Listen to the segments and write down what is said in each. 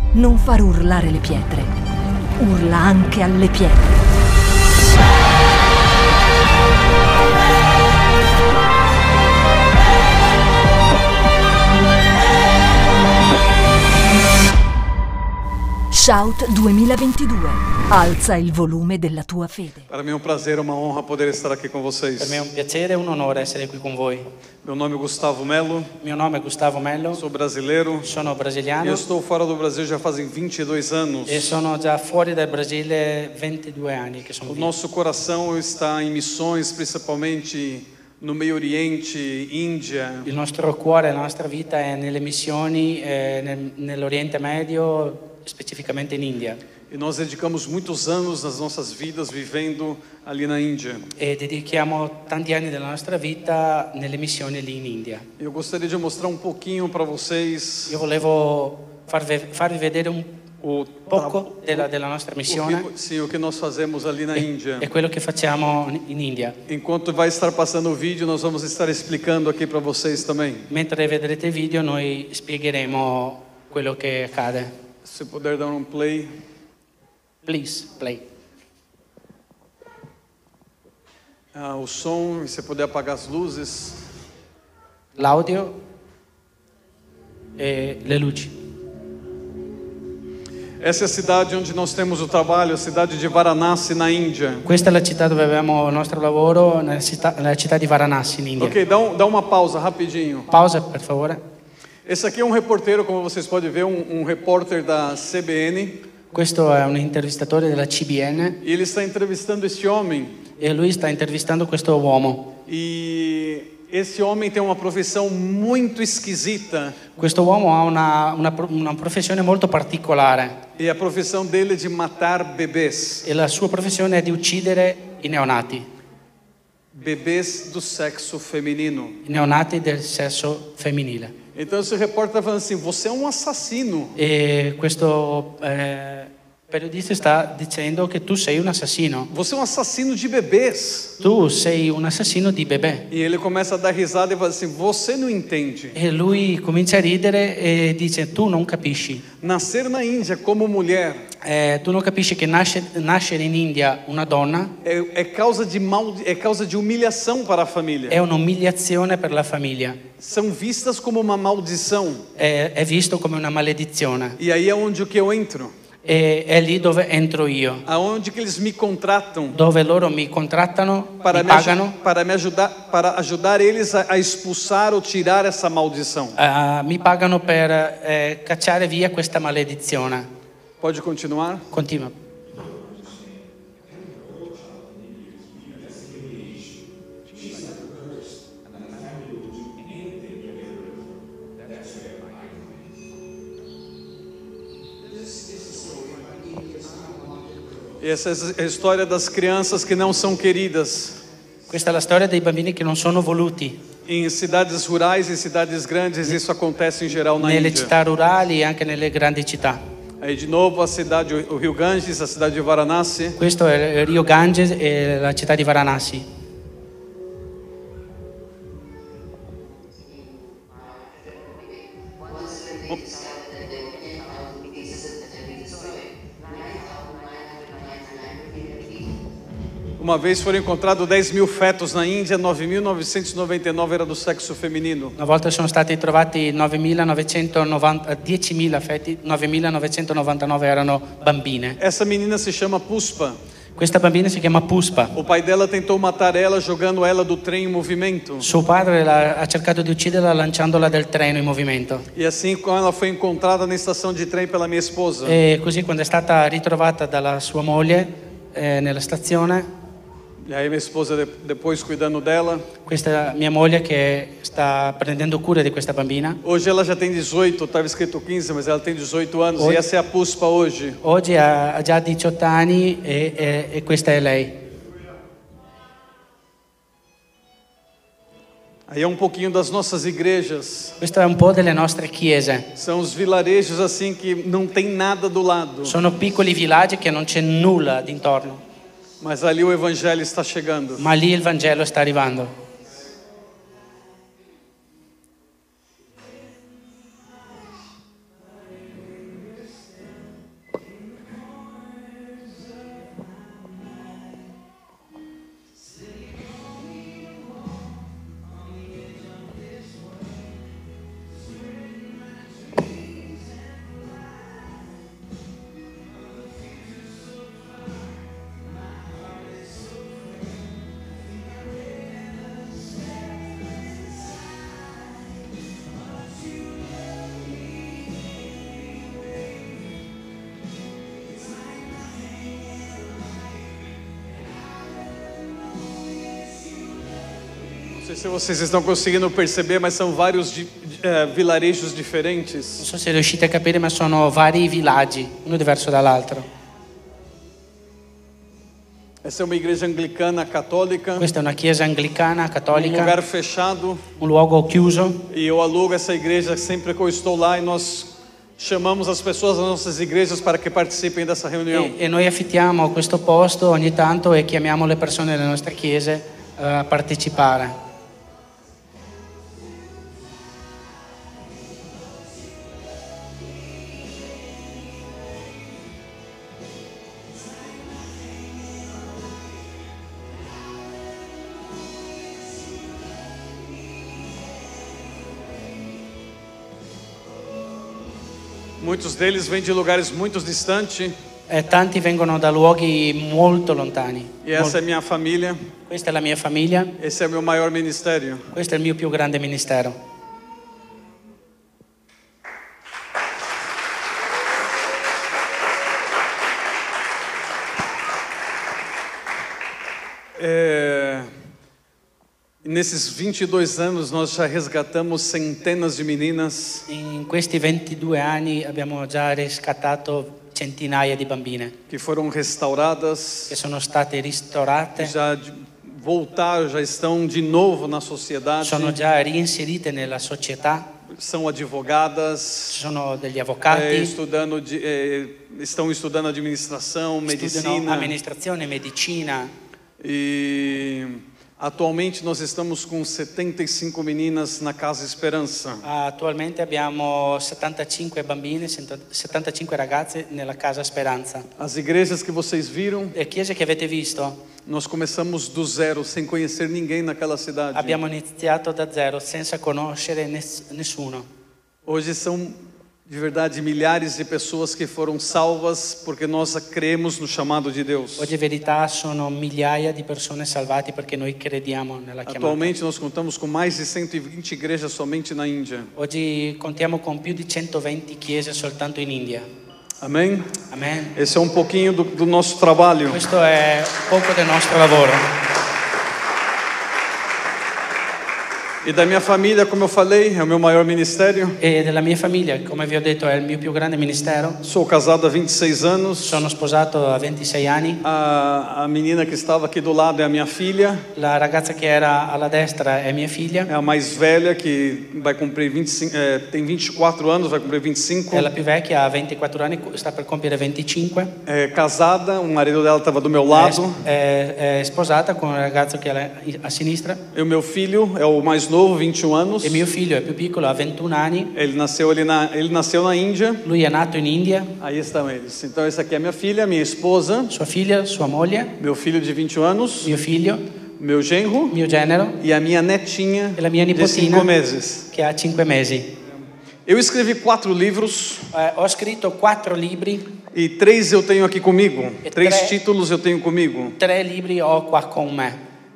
Non far urlare le pietre. Urla anche alle pietre. Shout 2022. Alza il volume della tua fede. Per me è un piacere, uma honra poder estar aqui com vocês. Per me è un piacere e un onore essere qui con voi. Meu nome é Gustavo Melo. Mio nome è Gustavo Mello. Sou brasileiro. Sono brasiliano. Eu estou fora do Brasil já fazem 22 anos. E sono già fuori dal Brasile 22 anni che sono O qui. nosso coração está em missões, principalmente no Meio Oriente, Índia. Il nostro cuore, la nostra vita è nelle missioni nell'Oriente Medio, specificamente in India. E nós dedicamos muitos anos das nossas vidas vivendo ali na Índia. E dedichiamo tanti anni della nostra vita nelle missioni lì in India. Eu gostaria de mostrar um pouquinho para vocês Io volevo farvi vedere un poco della nostra missione o que nós fazemos ali na Índia. e quello che facciamo in India. Enquanto vai estar passando o vídeo, nós vamos estar explicando aqui para vocês também. Mentre vedrete il video noi spiegheremo quello che accade. Se puder dar um play. Please, play. O som, se puder apagar as luzes. L'audio e le luci. Essa é a cidade onde nós temos o trabalho, a cidade de Varanasi, na Índia. Questa è la città dove abbiamo il nostro lavoro, nella città di Varanasi in India. Ok, dá uma pausa rapidinho. Pausa, per favore. Esse aqui é um reporteiro, como vocês podem ver, um repórter da CBN. Questo è un intervistatore della CBN E ele está entrevistando esse homem. e lui sta intervistando questo uomo. E esse homem tem uma profissão muito esquisita. Questo uomo ha una professione molto particolare E a profissão dele é de matar bebês. e la sua professione è di uccidere i neonati Bebês do sexo feminino. del sesso femminile. Então esse repórter está falando assim, você é um assassino. E questo periodista sta dicendo che tu sei un assassino. Você é um assassino de bebês. Tu sei un assassino di bebè. E ele começa a dar risada e fala assim, você não entende. E lui comincia a ridere e dice tu non capisci. Nascer na Índia como mulher Tu non capisci che nascere in India una donna é causa de humilhação para a família. è un'umiliazione per la famiglia. São vistas como uma maldição. È visto come una maledizione. E aí é onde que eu entro. E è lì dove entro io, Aonde que eles me contratam dove loro mi contrattano, para mi pagano, para ajudar eles a expulsar ou tirar essa maldição. mi pagano per cacciare via questa maledizione. Pode continuar? Continua. E essa é a história das crianças que não são queridas. Questa è la storia dei bambini che non sono voluti. Em cidades rurais e cidades grandes, isso acontece em geral na Nelle Índia. città rurali e anche nelle grandi città. Aí de novo a cidade, o Rio Ganges, a cidade de Varanasi. Questo è il Rio Ganges e la città di Varanasi. Uma vez foram encontrados 10.000 fetos na Índia, 9.999 era do sexo feminino. Una volta sono stati trovati 10.000 feti, 9.999 erano bambine. Essa menina se chama Puspa. Questa bambina si chiama Puspa. O pai dela tentou matar ela jogando ela do trem em movimento. Suo padre ha cercato di ucciderla lanciandola del treno in movimento. E assim, quando ela foi encontrada na estação de trem pela minha esposa, E così quando è stata ritrovata dalla sua moglie nella stazione, e aí minha esposa depois cuidando dela. questa mia moglie che sta prendendo cura di questa bambina, Hoje ela já tem 18, estava escrito 15, mas ela tem 18 anos. E essa é a Puspa hoje. oggi ha già 18 anni e questa è lei. Aí é um pouquinho das nossas igrejas. Questo è un po' delle nostre chiese. São os vilarejos assim que não tem nada do lado. Sono piccoli villaggi che non c'è nulla d'intorno, Mas ali o evangelho está chegando. ma lì il Vangelo sta arrivando. sei se vocês estão conseguindo perceber, mas são vários vilarejos Non diferentes. so se riuscite a capire, ma sono vari villaggi, uno diverso dall'altro. Essa é uma igreja anglicana católica, Questa è una chiesa anglicana, um cattolica, lugar fechado. un luogo chiuso. E eu alugo essa igreja sempre que eu estou lá e nós chamamos as pessoas das nossas igrejas para que participem dessa reunião. E noi affittiamo questo posto ogni tanto e chiamiamo le persone delle nostre chiese a partecipare. Muitos deles vêm de lugares muito distantes. E tanti vengono da luoghi molto lontani. E essa é minha família. Questa è la mia famiglia, Esse é o meu maior ministério. questo è il mio più grande ministero. Nesses 22 anos nós já resgatamos centenas de meninas In questi 22 anni abbiamo già riscattato centinaia di bambine que foram restauradas, che sono state ristorate, voltaram, já estão de novo na sociedade, sono già reinserite nella società, são advogadas, sono degli avvocati, estão estudando administração, studiano medicina. amministrazione, medicina. E atualmente nós estamos com 75 meninas na Casa Esperança. Attualmente abbiamo 75 bambine, 75 ragazze nella Casa Speranza. As igrejas que vocês viram, Le chiese che avete visto, nós começamos do zero, sem conhecer ninguém naquela cidade. abbiamo iniziato da zero senza conoscere nessuno. Hoje são de verdade milhares de pessoas que foram salvas porque nós cremos no chamado de Deus. Oggi in verità sono migliaia di persone salvate perché noi crediamo nella chiamata. Atualmente nós contamos com mais de 120 igrejas somente na Índia. Oggi contiamo con più di 120 chiese soltanto in India. Amém? Amen. Esse é um pouquinho do nosso trabalho. Questo è poco del nostro lavoro. E da minha família, como eu falei, é o meu maior ministério. E della mia famiglia, come vi ho detto, è il mio più grande ministero. Sou casado há 26 anos. Sono sposato a 26 anni. A menina que estava aqui do lado é a minha filha. La ragazza che era alla destra è mia figlia. É a mais velha que vai cumprir 25, tem 24 anos, vai cumprir 25. È la più vecchia, ha 24 anni, sta per compiere 25. É casada, o marido dela estava do meu lado. È sposata con un ragazzo che è a sinistra. E o meu filho é o mais novo, 21 anos. E mio figlio è più piccolo, ha 21 anni. Ele nasceu na Índia. Lui è nato in India. Aí estão eles. Então essa aqui é minha filha, minha esposa, Sua figlia, sua moglie, meu filho de 21 anos, mio figlio, meu genro mio genero e a minha netinha e la mia de nipotina 5 meses. che ha 5 mesi. Eu escrevi 4 livros Ho scritto 4 libri, e 3 eu tenho aqui comigo. E 3 tre- títulos eu tenho comigo. 3 libri ho qua con me.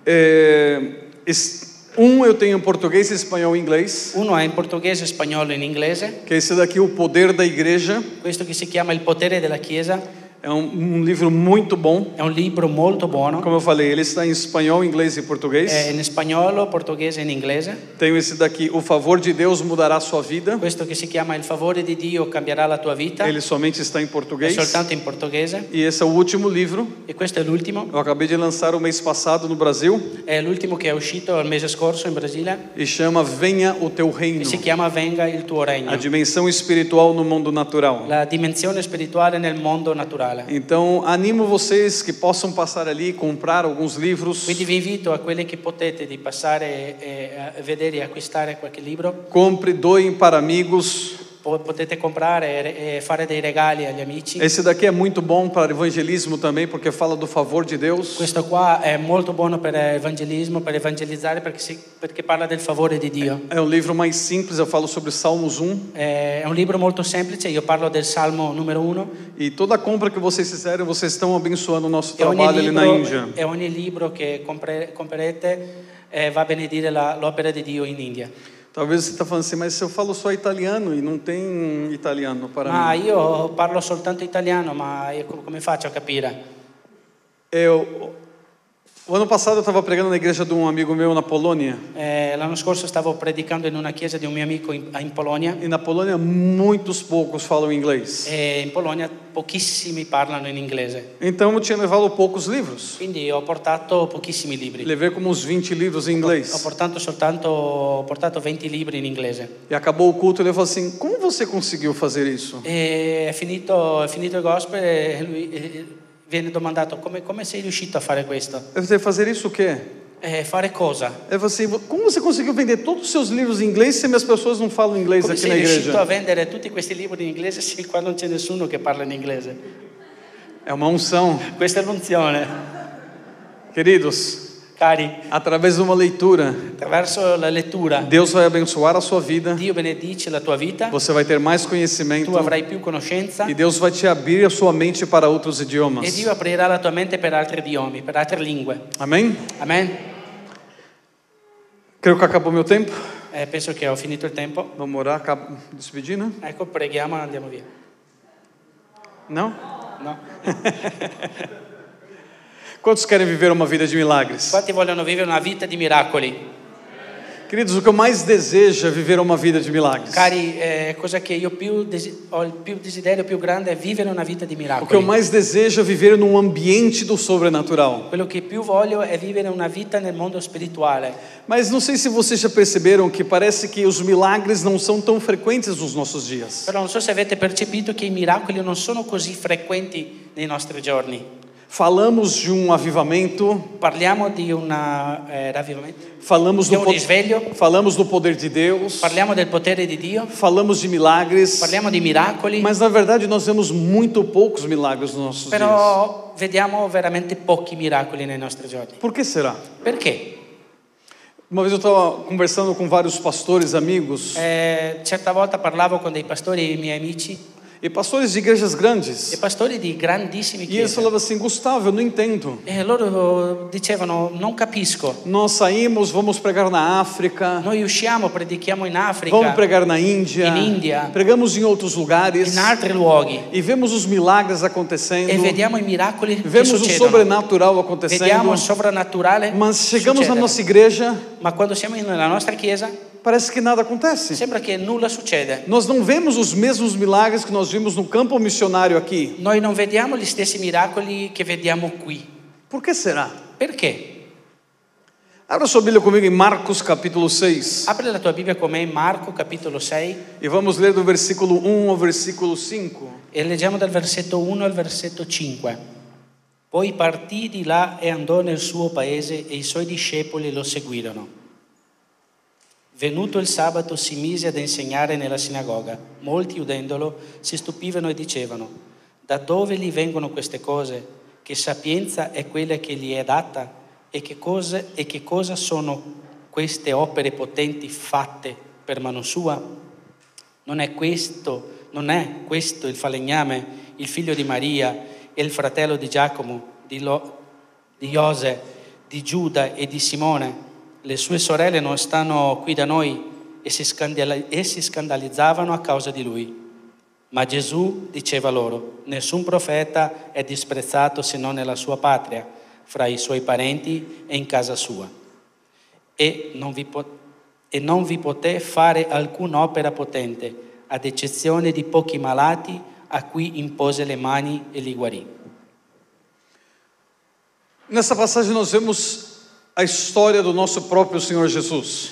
Um eu tenho em português, espanhol e inglês. Uno è in portoghese, spagnolo e in inglese. Que é esse daqui, O Poder da Igreja. Questo che si chiama Il potere della Chiesa. É um livro muito bom. È un libro molto buono. Como eu falei, ele está em espanhol, inglês e português. È in spagnolo, portoghese e in inglese. Tenho esse daqui, O Favor de Deus Mudará Sua Vida. Questo che si chiama Il favore di Dio cambierà la tua vita. Ele somente está em È português. soltanto in portoghese. E esse é o último livro. E questo è l'ultimo. Eu acabei de lançar o mês passado no Brasil. È l'ultimo che è uscito il mese scorso in Brasile. E chama Venha o Teu Reino. E si chiama Venga il tuo regno. A dimensão espiritual no mundo natural. La dimensione spirituale nel mondo naturale. Então, animo vocês que possam passar ali e comprar alguns livros. Quindi vi invito a quelli che potete di passare e vedere e acquistare qualche libro. Compre, doem para amigos. Potete comprare e fare dei regali agli amici. Esse daqui é muito bom para evangelismo também, porque fala do favor de Deus. Questo qua è molto buono per evangelismo, per evangelizzare perché parla del favore di Dio. É um livro mais simples, eu falo sobre Salmos 1. È un libro molto semplice, io parlo del Salmo numero 1. E toda compra que vocês fizerem, vocês estão abençoando o nosso trabalho ali na Índia. E ogni libro che comprerete va a benedire l'opera di Dio in India. Talvez você está falando assim, mas eu falo só italiano e não tem italiano para Ma mim. io parlo soltanto italiano, ma io come faccio a capire? O ano passado eu estava pregando na igreja de um amigo meu na Polônia. L'anno scorso stavo predicando in una chiesa di un mio amico in Polonia. E na Polônia muitos poucos falam inglês. E in Polonia pochissimi parlano in inglese. Então eu tinha levado poucos livros. Quindi ho portato pochissimi libri. Levei como uns 20 livros em Ho inglês. portato 20 libri in inglese. E acabou o culto e ele falou assim: como você conseguiu fazer isso? E è finito il gospel e lui viene domandato come sei riuscito a fare questo? Eu falei: fazer isso o quê? Fare cosa? Eu falei assim: como você conseguiu vender todos os seus livros em inglês se as pessoas não falam inglês Come aqui sei na riuscito a igreja? vendere tutti questi libri in inglese se qua non c'è nessuno che parla in inglese? É uma unção. Questa è l'unzione. Queridos, Cari, através de uma leitura, attraverso la lettura Deus vai abençoar a sua vida. Dio benedice la tua vita, Você vai ter mais conhecimento. tu avrai più conoscenza E Deus vai te abrir a sua mente para outros e idiomas. Dio aprirà la tua mente per altri idiomi, per altre lingue. Amém? Amen? Creio que acabou meu tempo. Penso che ho finito il tempo. Vamos orar, despedir, né? Ecco, preghiamo e andiamo via. Não? No? Quantos querem viver uma vida de milagres? Quanti vogliono vivere una vita di miracoli? Queridos, o que eu mais desejo é viver uma vida de milagres. Cari, cosa che io ho il più desiderio più grande è vivere una vita di O que eu miracoli. mais desejo é viver num ambiente do sobrenatural. Quello che più voglio è vivere una vita nel mondo spirituale. Mas não sei se vocês já perceberam que parece que os milagres não são tão frequentes nos nossos dias. Però non so se avete percepito che i miracoli non sono così frequenti nei nostri giorni. Falamos de um avivamento, Parliamo di un ravvimento, falamos di do, un risveglio, falamos do poder de Deus, parliamo del potere di Dio, falamos de milagres, parliamo di miracoli, mas na verdade nós vemos muito poucos milagres nos nossos dias. però vediamo veramente pochi miracoli nei nostri giorni. Por que será? Perché? Uma vez eu estava conversando com vários pastores amigos Certa volta parlavo con dei pastori e miei amici e pastores de igrejas grandes. e pastori di grandissime E eles chiese. falavam assim: Gustavo, eu não entendo. E loro dicevano: non capisco. Nós saímos, vamos pregar na África, Noi usciamo, predichiamo in Africa, vamos pregar na Índia, in India, pregamos em outros lugares in altri luoghi e vemos os milagres acontecendo, e vediamo i miracoli che vemos o succedono. sobrenatural Vediamo acontecendo, il sovrannaturale mas chegamos na succedere. nossa igreja, Ma quando siamo nella nostra chiesa parece que nada acontece. sembra che nulla succede. Nós não vemos os mesmos milagres que nós vimos no campo missionário aqui. Noi non vediamo gli stessi miracoli che vediamo qui. Por que será? Perché? Abra sua Bíblia comigo em Marcos capítulo 6 Apri la tua Bibbia con me in Marco capitolo 6 e vamos ler do versículo 1 ao versículo 5. e leggiamo dal versetto 1 al versetto 5. Poi partì di là e andò nel suo paese e i suoi discepoli lo seguirono. Venuto il sabato si mise ad insegnare nella sinagoga. Molti udendolo si stupivano e dicevano: da dove gli vengono queste cose? Che sapienza è quella che gli è data? E che cosa sono queste opere potenti fatte per mano sua? Non è questo il falegname, il figlio di Maria e il fratello di Giacomo, di Iose, di Giuda e di Simone? Le sue sorelle non stanno qui da noi e si scandalizzavano a causa di lui. Ma Gesù diceva loro: nessun profeta è disprezzato se non nella sua patria, fra i suoi parenti e in casa sua. E non vi poté fare alcun'opera potente, ad eccezione di pochi malati a cui impose le mani e li guarì. Nessa passagem nós vemos a história do nosso próprio Senhor Jesus.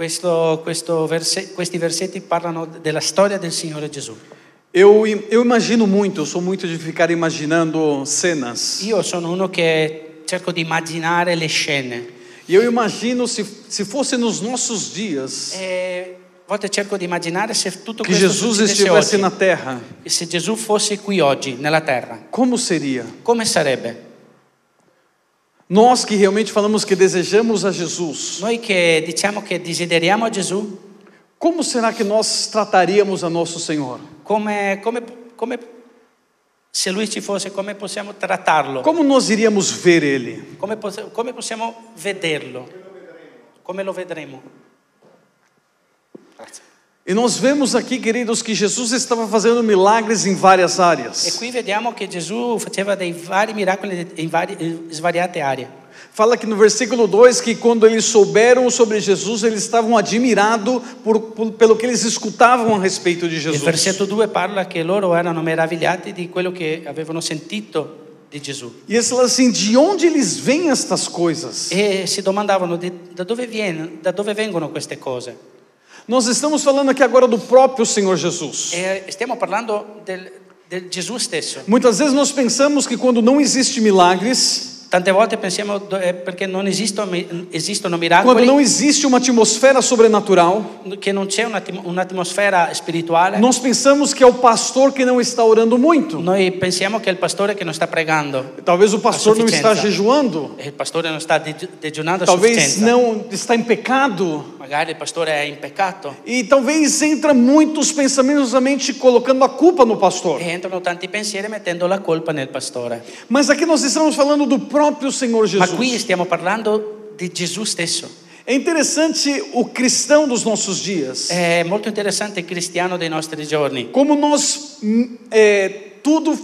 Questi versetti parlano della storia del Signore Gesù. Eu imagino muito, eu sou muito de ficar imaginando cenas. Io sono uno che cerco di immaginare le scene. E eu imagino se fosse nos nossos dias A volte cerco di immaginare se tutto que questo Jesus succedesse estivesse oggi. na terra, E se Gesù fosse qui oggi, nella terra, como seria? come sarebbe? Nós que realmente falamos que desejamos a Jesus, Noi che diciamo che desideriamo a Gesù, como será que nós trataríamos a nosso Senhor? come se Lui ci fosse, come possiamo trattarlo? Como nós iríamos ver Ele? Come possiamo vederlo? Come lo vedremo? Grazie. E nós vemos aqui, queridos, que Jesus estava fazendo milagres em várias E áreas. qui vediamo che Gesù faceva dei vari miracoli in svariate aree. Fala que no versículo 2 que quando eles souberam sobre Jesus, eles estavam admirados pelo que eles escutavam a respeito de Il Jesus. versetto 2 parla che loro erano meravigliati di quello che avevano sentito di Gesù E eles falam assim, de onde eles veem estas coisas? e si domandavano da dove vengono queste cose. Nós estamos falando aqui agora do próprio Senhor Jesus. E stiamo parlando del Gesù stesso. Muitas vezes nós pensamos que quando não existe milagres, Tante volte pensiamo perché non esistono quando miracoli, não existe uma atmosfera sobrenatural, che non c'è un'atmosfera spirituale. nós pensamos que é o pastor que não está orando muito. Noi pensiamo che è il pastore che non sta pregando, Talvez o pastor não está sufficienza. jejuando, e il pastore non sta digiunando a talvez sufficienza. não está em pecado. Magari il pastore è in peccato E talvez entra muitos pensamentos na mente colocando a culpa no pastor. e entrano tanti pensieri mettendo la colpa nel pastore. Mas aqui nós estamos falando do próprio Senhor Ma qui Jesus. stiamo parlando di Gesù stesso. É interessante o cristão dos nossos dias. È molto interessante il cristiano dei nostri giorni. Como nós tudo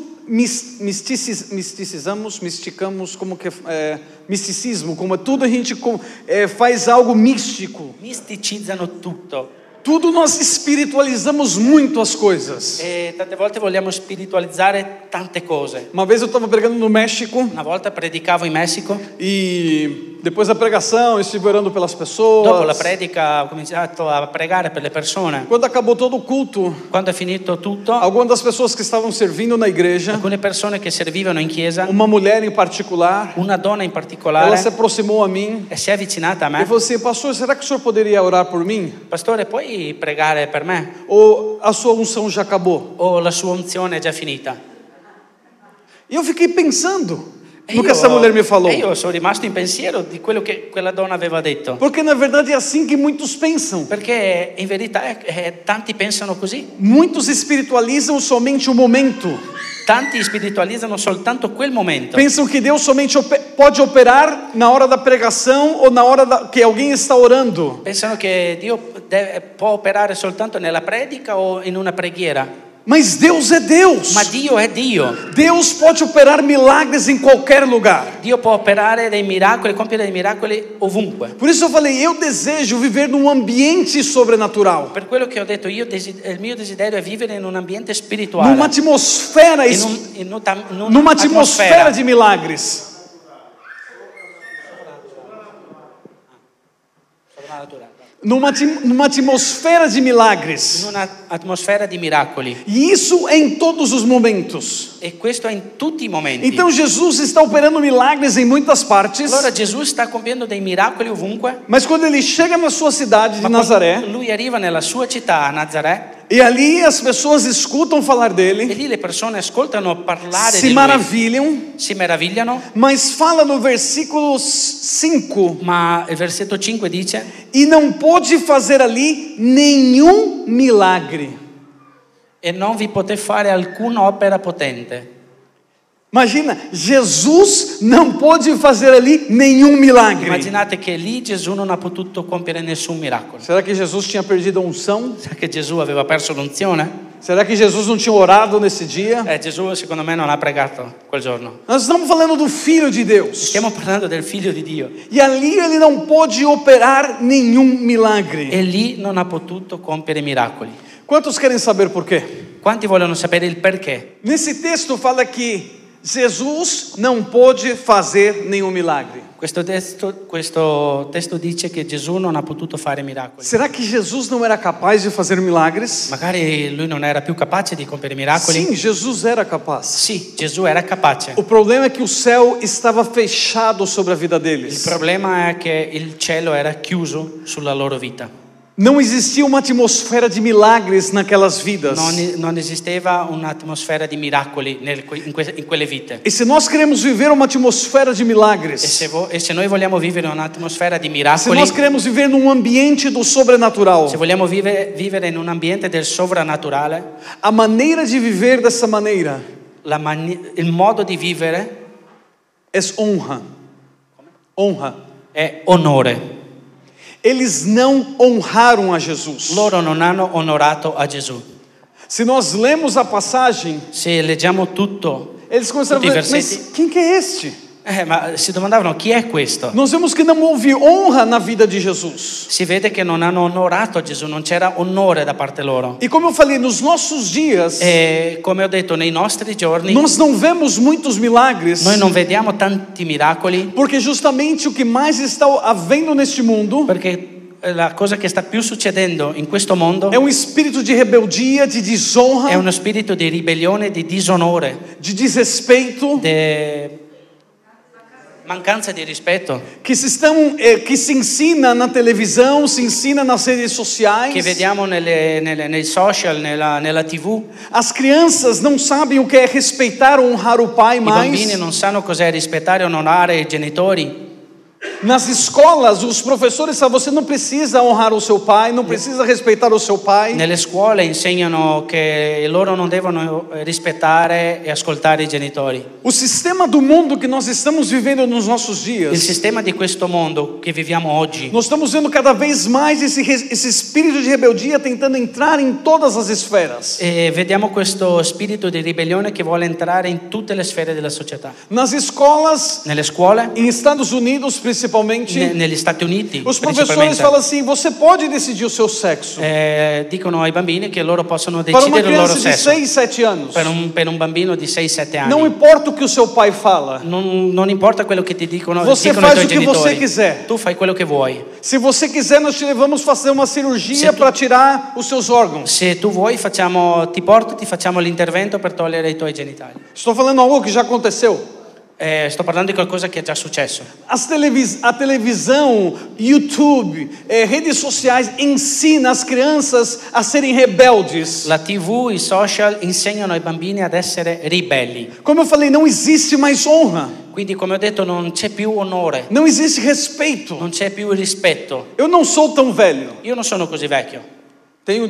misticamos, como que misticismo, como tudo a gente faz algo místico. Misticizzano tutto Tudo nós espiritualizamos muito as coisas. e tante volte vogliamo spiritualizzare tante cose. Uma vez eu estava pregando no México Una volta predicavo in Messico, e depois da pregação eu estive orando pelas dopo la pessoas. predica ho cominciato a pregare per le persone. Quando acabou todo o culto, Quando è finito tutto, algumas das pessoas que estavam servindo na igreja, alcune persone che servivano in chiesa, uma mulher em particular, una donna in ela particolare, se aproximou a mim si è avvicinata a e me. falou assim: pastor, será que o senhor poderia orar por mim? Pastore, puoi pregare per me? Ou a sua unção já acabou? O la sua unzione è già finita? E eu fiquei pensando E no que essa mulher me falou. io sono rimasto in pensiero di quello che quella donna aveva detto. Porque na verdade é assim que muitos pensam. Perché in verità tanti pensano così. Muitos espiritualizam somente o momento. Tanti spiritualizzano soltanto quel momento. Pensam que Deus somente pode operar na hora da pregação ou na hora que alguém está orando. Pensano che Dio può operare soltanto nella predica o in una preghiera. Mas Deus é Deus. Ma Dio è Dio. Deus pode operar milagres em qualquer lugar. Dio può operare dei miracoli, compiere dei miracoli ovunque. Por isso eu falei, eu desejo viver num ambiente sobrenatural. Per quello che ho detto io, il mio desiderio è vivere in un ambiente spirituale. Numa atmosfera, numa atmosfera de milagres. Numa atmosfera de milagres. In una atmosfera di miracoli. E isso é em todos os momentos. E questo è in tutti i momenti. Então Jesus está operando milagres em muitas partes. Allora Gesù sta compiendo dei miracoli ovunque. Mas quando ele chega na sua cidade de Nazaré, Lui arriva nella sua città, a Nazaré, e ali as pessoas escutam falar e dele, lì le persone ascoltano parlare se di lui, maravilham, si meravigliano, mas fala no versículo 5, ma il versetto 5 dice: e não pôde fazer ali nenhum milagre. e non vi poté fare alcuna opera potente. Imagina, Jesus não pôde fazer ali nenhum milagre. Immaginate che lì Gesù non ha potuto compiere nessun miracolo. Será que Jesus tinha perdido a unção? Sa che Gesù aveva perso l'unzione? Será que Jesus não tinha orado nesse dia? Gesù secondo me non ha pregato quel giorno. Nós estamos falando do Filho de Deus. Stiamo parlando del figlio di Dio. E ali ele não pôde operar nenhum milagre. E lì non ha potuto compiere miracoli. Quantos querem saber por quê? Quanti vogliono sapere il perché? Nesse texto fala que Jesus não pôde fazer nenhum milagre. Questo testo dice che Gesù non ha potuto fare miracoli. Será que Jesus não era capaz de fazer milagres? Magari lui non era più capace di compiere miracoli. Sim, Jesus era capaz. Sì, Gesù era capace. O problema é que o céu estava fechado sobre a vida Il deles. problema è che il cielo era chiuso sulla loro vita. Não existia uma atmosfera de milagres naquelas vidas. Non esisteva un'atmosfera di miracoli in quelle vite. E se nós queremos viver uma atmosfera de milagres, E se noi vogliamo vivere un'atmosfera di se miracoli, nós queremos viver num ambiente do sobrenatural, se vogliamo vivere in un ambiente del sovrannaturale, a maneira de viver dessa maneira il modo di vivere é honra. Honra. è onore. Eles não honraram a Jesus. Loro non hanno onorato a Gesù. Se nós lemos a passagem, Se leggiamo tutto, eles começaram a tutti i dizer, versetti, mas quem que é este? Ma si domandavano chi è questo? Nós vemos que não houve honra na vida de Jesus. Si vede che non hanno onorato Gesù, non c'era onore da parte loro. E como eu falei, nos nossos dias, E come ho detto, nei nostri giorni nós não vemos muitos milagres, noi non vediamo tanti miracoli, porque justamente o que mais está havendo neste mundo perché la cosa che sta più succedendo in questo mondo é um espírito de rebeldia, de è desonra, uno spirito di ribellione, di disonore, de desrespeito, di mancanza di rispetto, que se ensina na televisão, se ensina nas redes sociais. che vediamo nei social, nella TV. As crianças não sabem o que é respeitar ou honrar o pai I bambini mais. non sanno cos'è rispettare e onorare i genitori. Nas escolas, os professores falam: você não precisa honrar o seu pai, não precisa respeitar o seu pai. Nelle scuole insegnano che loro non devono rispettare e ascoltare i genitori. O sistema do mundo que nós estamos vivendo nos nossos Il dias, sistema di questo mondo che viviamo oggi, nós estamos vendo cada vez mais esse espírito de rebeldia tentando entrar em todas as esferas. e vediamo questo spirito di ribellione che vuole entrare in tutte le sfere della società. Nas escolas, Nelle scuole, em Estados Unidos principalmente, negli Stati Uniti, os professores principalmente, falam assim: você pode decidir o seu sexo. dicono ai bambini che loro possono Para uma decidere il loro criança de sesso. 6, 7 anos, Per un bambino di 6-7 anni. não importa o que o seu pai fala. Non importa quello che ti dicono, Você dicono i faz tuoi o que você genitori. quiser. Tu fai quello che vuoi. Se você quiser, nós te levamos fazer uma cirurgia Se tu- para tirar os seus órgãos. Se tu vuoi, ti facciamo l'intervento per togliere i tuoi genitali. Estou falando algo que já aconteceu. Sto parlando di qualcosa che è già successo. A televisão, YouTube, redes sociais ensina as crianças a serem rebeldes. La TV, i social insegnano ai bambini ad essere ribelli. Como eu falei, não existe mais honra, Quindi, come ho detto, non c'è più onore, não existe respeito. non c'è più rispetto. Eu não sou tão velho, Io non sono così vecchio, tenho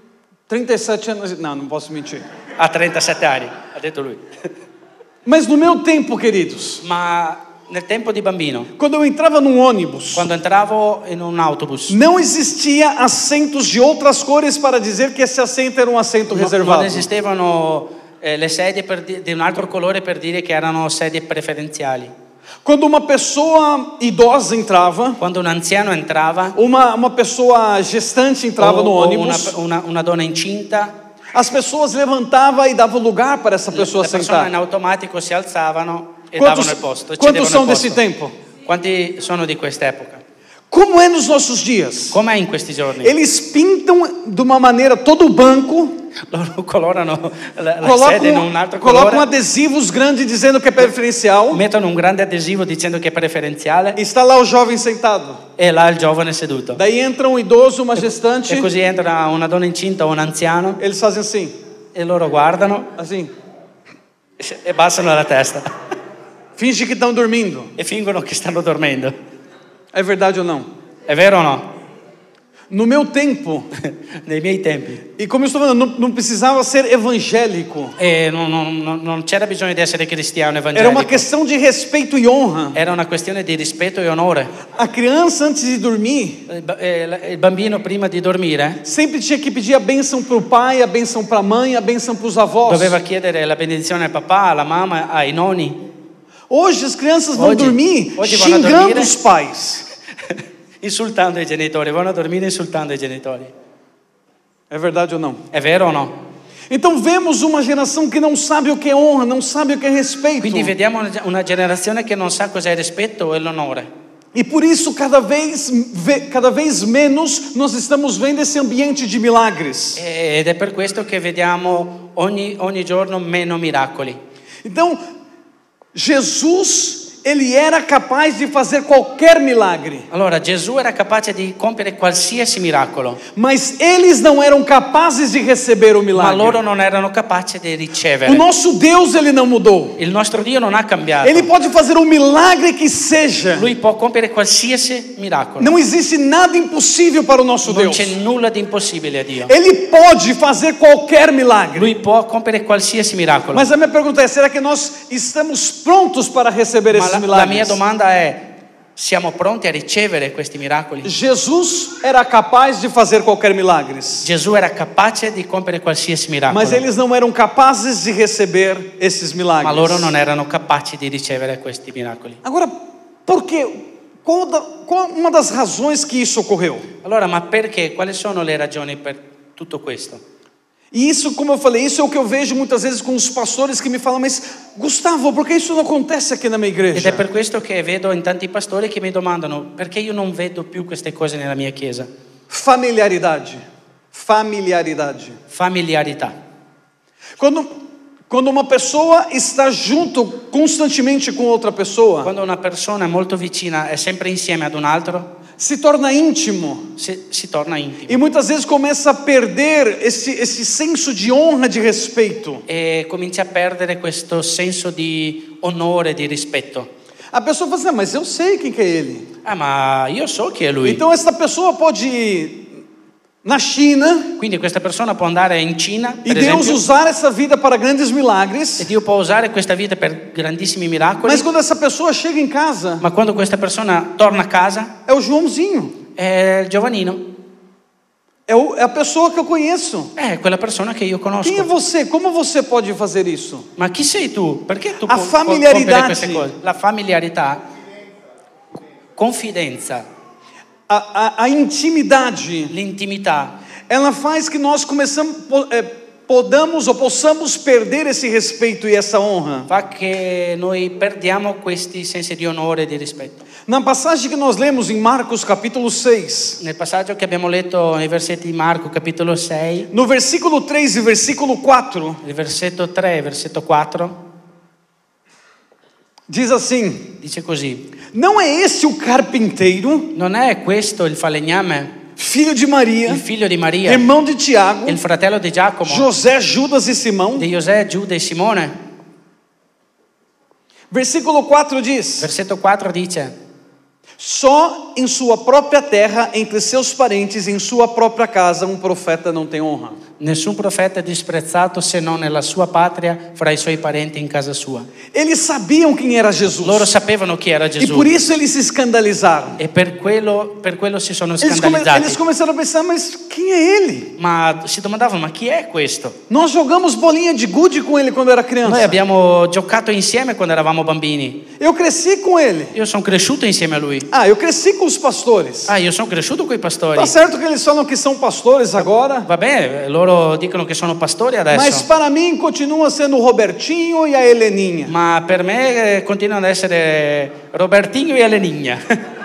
37 anos, não posso mentir. ha 37 anni, ha detto lui. Mas no meu tempo, queridos, Ma nel tempo di bambino, quando eu entrava num ônibus, quando entravo in un autobus, não existia assentos de outras cores para dizer que esse assento era um assento non reservado. esistevano le sedie di un altro colore per dire che erano sedie preferenziali. Quando uma pessoa idosa entrava, Quando un anziano entrava, uma pessoa gestante entrava no o ônibus, una donna incinta, as pessoas levantavam e davam lugar para essa pessoa le persone in sentar. automatico si alzavano e davano il posto. Quantos cedevano são il desse posto. tempo? Quanti sono di quest'epoca? Como é nos nossos dias? Com'è in questi giorni? Eles pintam de uma maneira todo o banco, Loro colorano la sede in un altro colocam colore, adesivos grandes dizendo que é preferencial, mettono un grande adesivo dicendo che è preferenziale e está lá o jovem sentado. e là il giovane seduto. Daí entra um idoso, uma gestante, E così entra una donna incinta o un anziano eles fazem assim, e loro guardano assim, e bassano la testa finge que estão dormindo. e fingono che stanno dormendo. É verdade ou não? È vero o no? No meu tempo, Nei miei tempi. e como eu estou falando, não precisava ser evangélico. E non c'era bisogno di essere cristiano Era uma evangelico. questão de respeito e honra. Era una questione di rispetto e onore. A criança, antes de dormir, Il bambino prima di dormire sempre tinha que pedir a bênção para o pai, a bênção para a mãe, a bênção para os avós. doveva chiedere la benedizione al papà, alla mamma, ai nonni. Hoje as crianças vão dormir Hoje vão xingando dormir, os pais. Insultando i genitori, vanno a dormire insultando i genitori. É verdade ou não? È vero o no? Então vemos uma geração que não sabe o que é honra, não sabe o que é respeito. Quindi vediamo una generazione che non sa cos'è il rispetto e l'onore. E por isso cada vez menos nós estamos vendo esse ambiente de milagres. Ed è per questo che vediamo ogni giorno meno miracoli. Então Jesus, ele era capaz de fazer qualquer milagre, Allora Gesù era capace di compiere qualsiasi miracolo, mas eles não eram capazes de receber o ma milagre. loro non erano capaci di O ricevere. nosso Deus, ele não mudou. Il nostro Dio non ha cambiato. Ele pode fazer um milagre que seja. Lui può compiere qualsiasi miracolo. Não existe nada impossível para o nosso Non Deus. c'è nulla di impossibile a Dio. Ele pode fazer qualquer milagre. Lui può compiere qualsiasi miracolo. Mas a minha pergunta é: será que nós estamos prontos para receber esses Ma la mia milagres? domanda è: Siamo pronti a ricevere questi miracoli? Jesus era capaz de fazer qualquer milagre, Gesù era capace di compiere qualsiasi miracolo, mas eles não eram capazes de receber esses ma loro milagres. non erano capaci di ricevere questi miracoli. Agora, por quê? Qual uma das razões que isso ocorreu? Allora, ma perché? Quali sono le ragioni per tutto questo? E isso, como eu falei, isso é o que eu vejo muitas vezes com os pastores que me falam, mas Gustavo, por que isso não acontece aqui na minha Ed igreja? è per questo che vedo in tanti pastori che mi domandano perché io non vedo più queste cose nella mia chiesa. Familiaridade. Familiaridade. Familiarità. Quando uma pessoa está junto constantemente com outra pessoa, Quando una persona è molto vicina, è sempre insieme ad un altro, se torna íntimo. si torna intimi. E muitas vezes começa a perder esse senso de honra, de respeito. E comincia a perdere questo senso di onore, di rispetto. A pessoa fala assim, mas eu sei quem que é ele. Ah, ma io so chi è lui. Então essa pessoa pode ir na China Quindi questa persona può andare in Cina, e per Deus esempio, usar essa vida para grandes e milagres, Dio può usare questa vita per grandissimi miracoli, mas quando essa pessoa chega em casa, ma quando questa persona torna a casa é o Joãozinho, è il giovanino, é a pessoa que eu conheço. è quella persona che io conosco. Quem é você? Como você pode fazer isso? Ma chi sei tu? Perché tu A puoi familiarità. compiere queste cose? La familiarità, confidenza, A intimidade, l'intimità ela faz que nós possamos perder esse respeito e essa honra. fa che noi perdiamo questi sensi di onore e di rispetto. Na passagem que nós lemos em Marcos capítulo 6, Nel passaggio che abbiamo letto nei versetti di Marco capitolo 6, no versículo 3 e versículo 4, il versetto 3 e versetto 4, diz assim: dice così: não é esse o carpinteiro, non è questo il falegname, filho de Maria, il figlio di Maria, irmão de Tiago, il fratello di Giacomo, José, Judas e Simão? di Giuseppe, Giuda e Simone? Versículo 4 diz: Versetto 4 dice: só em sua própria terra, entre seus parentes, em sua própria casa, um profeta não tem honra. nessun profeta è disprezzato se non nella sua patria, fra i suoi parenti in casa sua. Eles sabiam quem era Jesus. Loro sapevano chi era E Gesù por isso eles se escandalizaram. e per quello si sono Eles scandalizzati. começaram a pensar, mas quem é ele? Ma si domandavano: ma chi è questo? Nós jogamos bolinha de gude com ele quando era Noi criança. abbiamo giocato insieme quando eravamo bambini. Eu cresci com ele. Io sono cresciuto insieme a lui. Ah, eu cresci com os pastores. Ah, io sono cresciuto con i pastori. Tá certo que eles falam que são pastores agora, Va bene, loro dicono che sono pastori mas adesso, para mim continua sendo o Robertinho e a Heleninha. ma per me continuano ad essere Robertinho e Elenigna.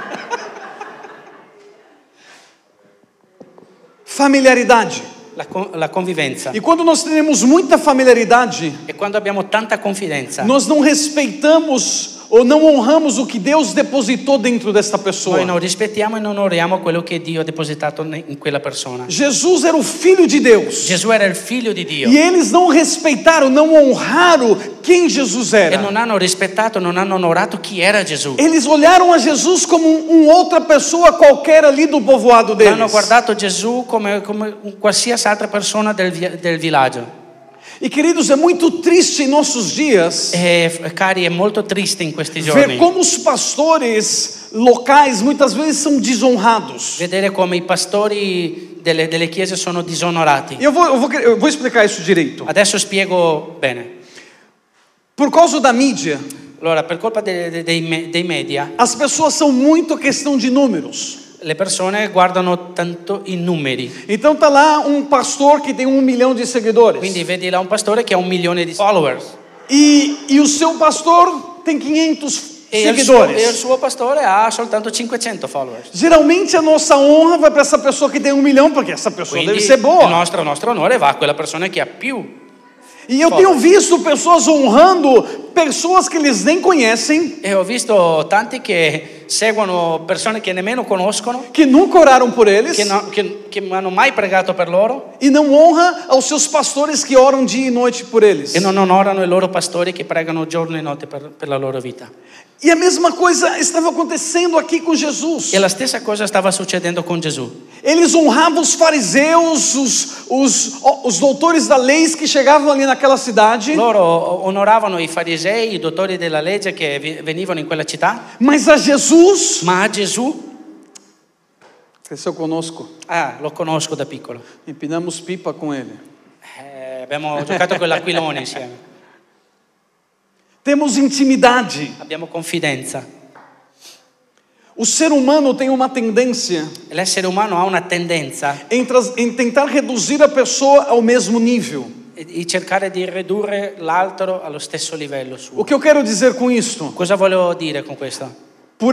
Familiaridade. La convivenza. E quando nós temos muita familiaridade, E quando abbiamo tanta confidenza, nós não respeitamos ou não honramos o que Deus depositou dentro desta pessoa. noi non rispettiamo e non onoriamo quello che Dio ha depositato in quella persona. Jesus era o Filho de Deus. Gesù era il figlio di Dio E eles não respeitaram, não honraram quem Jesus e era. non hanno rispettato, non hanno onorato chi era Gesù. Eles olharam a Jesus como outra pessoa qualquer ali do povoado Hanno deles. guardato Gesù come qualsiasi altra persona del villaggio. E queridos, é muito triste em nossos dias E cari, è molto triste in questi ver giorni como os pastores locais muitas vezes são desonrados. vedere come i pastori delle chiese sono disonorati. Eu vou explicar isso direito. Adesso spiego bene. Por causa da mídia, Allora, per colpa dei media, as pessoas são muito questão de números. le persone guardano tanto i numeri. Então tá lá um pastor que tem 1 milhão de seguidores. Quindi vedi là un pastore che ha 1 milione di followers E o seu pastor tem 500 e il seguidores. suo pastore ha soltanto 500 followers. Geralmente a nossa honra vai para essa pessoa que tem 1 milhão, porque essa pessoa Quindi deve ser il boa. nostro onore va a quella persona che ha più. E eu tenho visto pessoas honrando pessoas que eles nem conhecem, E ho visto tanti che seguono persone che nemmeno conoscono, que nunca oraram por eles, che che non hanno mai pregato per loro e não honra aos seus pastores que oram dia e noite por eles. e non onorano i loro pastori che pregano giorno e notte per la loro vita. E a mesma coisa estava acontecendo aqui com Jesus. E la stessa cosa stava succedendo con Gesù. Eles honravam os fariseus, os doutores da lei que chegavam ali naquela cidade. Loro onoravano i farisei, i dottori della legge che venivano in quella città, Mas a Jesus, ma a Gesù, cresceu conosco, lo conosco da piccolo. empinamos pipa com ele. Abbiamo giocato con l'aquilone insieme. Temos intimidade. Abbiamo confidenza. O ser humano tem uma tendência L'essere umano ha una tendenza em tentar reduzir a pessoa ao mesmo nível. di cercare di ridurre l'altro allo stesso livello O suo. que eu quero dizer com isto? Cosa volevo dire con questo? Por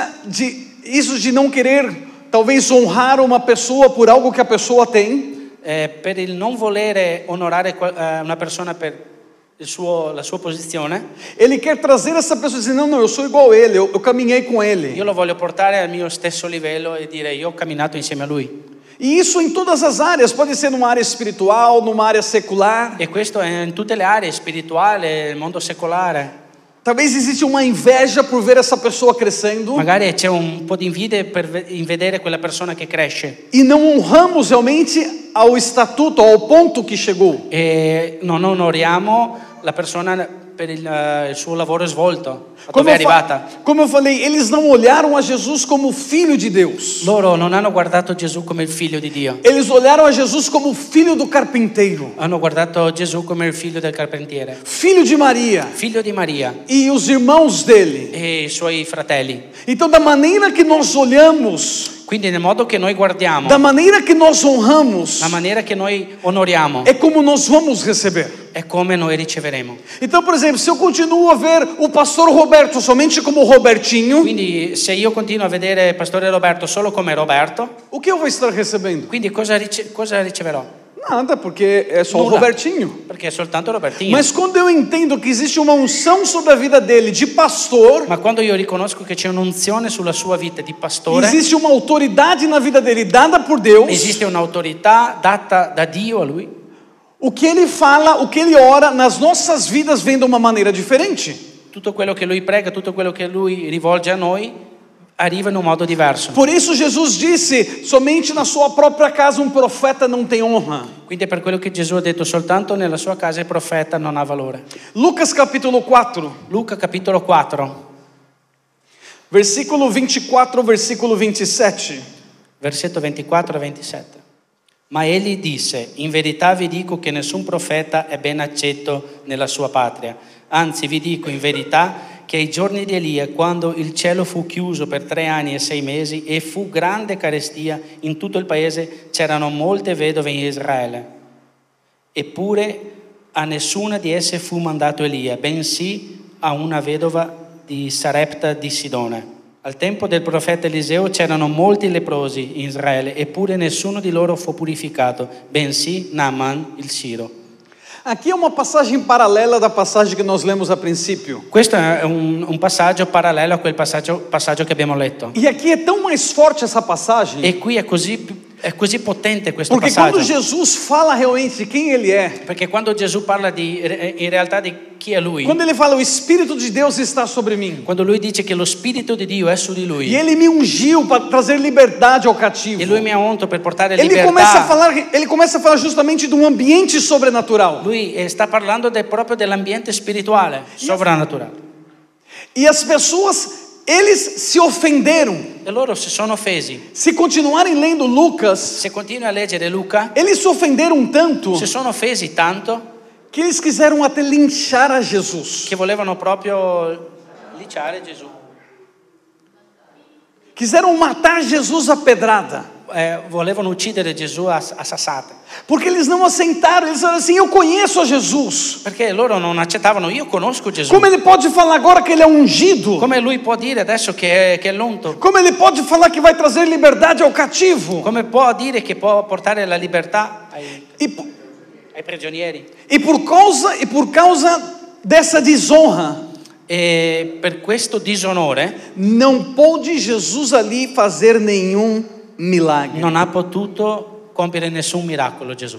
isso de não querer talvez honrar uma pessoa por algo que a pessoa tem, Per il non volere onorare una persona per la sua posizione, ele quer trazer essa pessoa dizendo, não, eu sou igual a ele, eu caminhei com ele. io lo voglio portare al mio stesso livello e dire io ho camminato insieme a lui. E isso em todas as áreas, pode ser numa área espiritual, numa área secular. E questo è in tutte le aree, spirituale, il mondo secolare. Talvez existe uma inveja por ver essa pessoa crescendo Magari c'è un po' di invidia in vedere quella persona che cresce e não honramos realmente ao estatuto, ao ponto que chegou. e non onoriamo la persona per il suo lavoro svolto, a Como dove è eu, arrivata. como eu falei, eles não olharam a Jesus como filho de Deus. Loro non hanno guardato Gesù come il figlio di Dio, Eles olharam a Jesus como filho do carpinteiro, hanno guardato Gesù come il figlio del carpentiere, filho de Maria figlio di Maria e os irmãos dele. e i suoi fratelli. Então, da maneira que nós olhamos, Quindi nel modo che noi guardiamo, da maneira que nós honramos, la maniera che noi onoriamo, é como nós vamos receber. è come noi riceveremo. Então, por exemplo, se eu continuo a ver o pastor Roberto somente como Robertinho, Quindi se io continuo a vedere Pastore Roberto solo come Roberto, o que eu vou estar recebendo? quindi cosa riceverò? Nada, porque é só o Nulla. Robertinho. Perché è soltanto Robertino. Mas quando eu entendo que existe uma unção sobre a vida dele de pastor, Ma quando io riconosco che c'è un'unzione sulla sua vita di pastore, existe uma autoridade na vida dele dada por Deus, esiste un'autorità data da Dio a lui, o que ele fala, o que ele ora nas nossas vidas vem de uma maneira diferente. tutto quello che lui prega, tutto quello che lui rivolge a noi arriva in un modo diverso. Por isso Jesus disse: somente na sua própria casa um profeta não tem honra. Quindi è per quello che Gesù ha detto, soltanto nella sua casa il profeta non ha valore. Lucas capítulo 4, Luca capitolo 4, versículo 24, versículo 27. versetto 24 e 27. Ma egli disse: in verità vi dico che nessun profeta è ben accetto nella sua patria. Anzi, vi dico in verità che ai giorni di Elia, quando il cielo fu chiuso per 3 anni e 6 mesi e fu grande carestia in tutto il paese, c'erano molte vedove in Israele. Eppure a nessuna di esse fu mandato Elia, bensì a una vedova di Sarepta di Sidone. Al tempo del profeta Eliseo c'erano molti leprosi in Israele, eppure nessuno di loro fu purificato, bensì Naaman il Siro. Aqui é uma passagem paralela da passagem que nós lemos a princípio. Questo è un passaggio parallelo a quel passaggio che abbiamo letto. E aqui é tão mais forte essa passagem, E qui è così potente questo porque quando passaggio. Jesus fala realmente de quem ele é, Perché quando Gesù parla in realtà di chi è lui, quando ele fala o Espírito de Deus está sobre mim, quando lui dice che lo Spirito di Dio è su di lui, e ele me ungiu para trazer liberdade ao cativo. e lui mi ha unto per portare Ele começa a libertà, falar justamente de um ambiente sobrenatural. lui sta parlando proprio dell'ambiente spirituale, sovrannaturale. E as pessoas, eles se ofenderam. E loro si sono offesi. Se continuarem lendo Lucas, Se continui a leggere Luca, eles se ofenderam tanto si sono offesi tanto que eles quiseram até linchar a Jesus. che volevano proprio linciare Gesù. Quiseram matar Jesus a pedrada. Volevano uccidere Gesù a sassate. Porque eles não aceitaram, eles falaram assim: eu conheço a Jesus. Perché loro non accettavano, io conosco Gesù. Como ele pode falar agora que ele é ungido? Come lui può dire adesso che è l'unto? Como ele pode falar que vai trazer liberdade ao cativo? Come può dire che può portare la libertà E, ai prigionieri? e por causa dessa desonra, E per questo disonore não pôde Jesus ali fazer nenhum milagre. non ha potuto compiere nessun miracolo Gesù.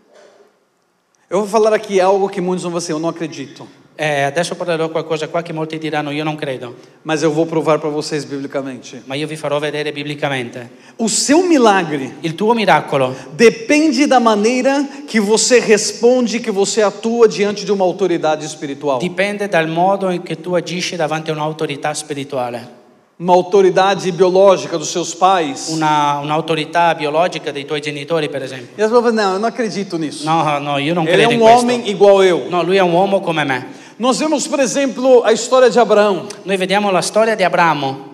Eu vou falar aqui algo que muitos vão dizer, eu não acredito. Adesso parlerò qualcosa qua che molti diranno io non credo, Mas eu vou provar para vocês biblicamente. ma io vi farò vedere biblicamente. O seu milagre Il tuo miracolo depende da maneira que você responde, que você atua diante de uma autoridade espiritual. dipende dal modo in cui tu agisci davanti a un'autorità spirituale, Uma autoridade biológica dos seus pais. un'autorità biologica dei tuoi genitori, per esempio. E as pessoas falam, não, eu não acredito nisso. No, io non Ele é credo in homem questo. igual eu. No, lui è un uomo come me. Nós vemos, por exemplo, a história de Abraão. Noi vediamo la storia di Abramo.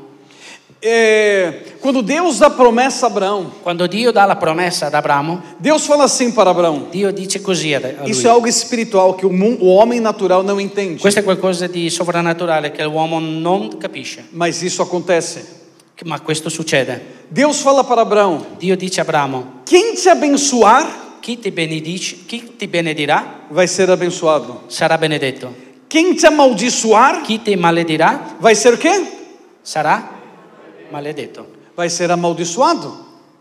Quando Deus dá promessa a Abraão, Quando Dio dà la promessa ad Abramo, Deus fala assim para Abraão. Dio dice così a lui. Isso é algo espiritual que o homem natural não entende. Questo è qualcosa di sovrannaturale che l'uomo non capisce, Mas isso acontece. ma questo succede. Deus fala para Abraão: Dio dice a Abramo, quem te abençoar chi ti benedirà vai ser abençoado. sarà benedetto. Quem te amaldiçoar Chi ti maledirà vai ser o quê? sarà maledetto. Vai ser amaldiçoado.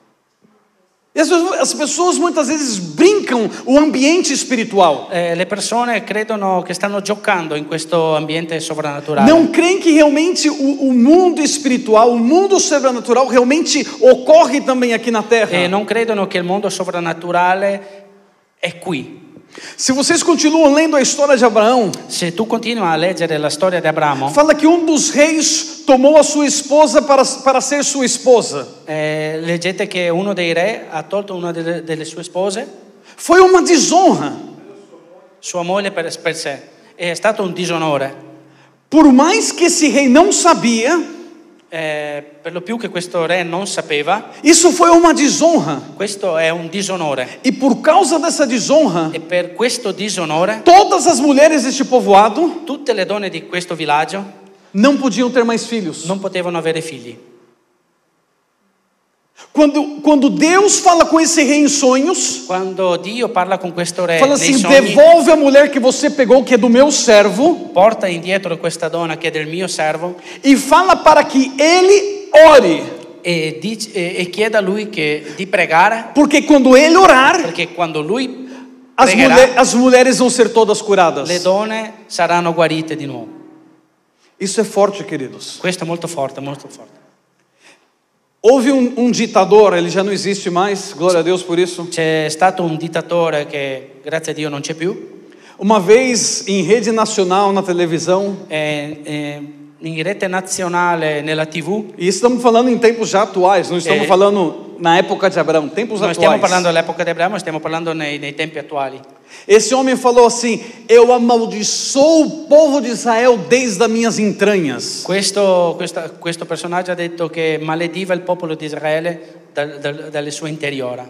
E as pessoas muitas vezes brincam o ambiente espiritual. Le persone credono che stanno giocando in questo ambiente sovrannaturale. Não creem que realmente o mundo espiritual, o mundo sobrenatural realmente ocorre também aqui na Terra. E non credono che il mondo sovrannaturale è qui. Se vocês continuam lendo a história de Abraão, Se tu continui a leggere la storia di Abramo, fala que dos reis tomou a sua esposa para ser sua esposa. leggete che uno dei re ha tolto una delle sue spose, Foi uma desonra. sua moglie per sé. È stato un disonore. Por mais que esse rei não sabia, Per lo più che questo re non sapeva, isso foi uma desonra. questo è un disonore. E por causa dessa desonra, E per questo disonore, todas as mulheres deste povoado tutte le donne di questo villaggio não podiam ter mais filhos. non potevano avere figli. Quando Deus fala com esse rei em sonhos, Quando Dio parla con questo re fala nei assim: sogni, devolve a mulher que você pegou, que é do meu servo, porta indietro questa donna che è del mio servo e fala para que ele ore. e chiede a lui di pregare, Porque quando ele orar, perché quando lui pregherà, as mulheres vão ser todas curadas. le donne saranno guarite di nuovo. Isso é forte, queridos. Questo è molto forte, molto forte. Houve ditador, ele já não existe mais, glória a Deus por isso. C'è stato un dittatore che, grazie a Dio, non c'è più. Uma vez em rede nacional na televisão, In rete nazionale nella TV, e estamos falando em tempos já atuais, não estamos falando na época de Abraão, tempos non atuais. stiamo parlando dell'epoca di Abramo, stiamo parlando nei tempi attuali. Esse homem falou assim: eu amaldiçoo o povo de Israel desde as minhas entranhas. Questo personaggio ha detto che malediva il popolo di Israele dalle sue interiora.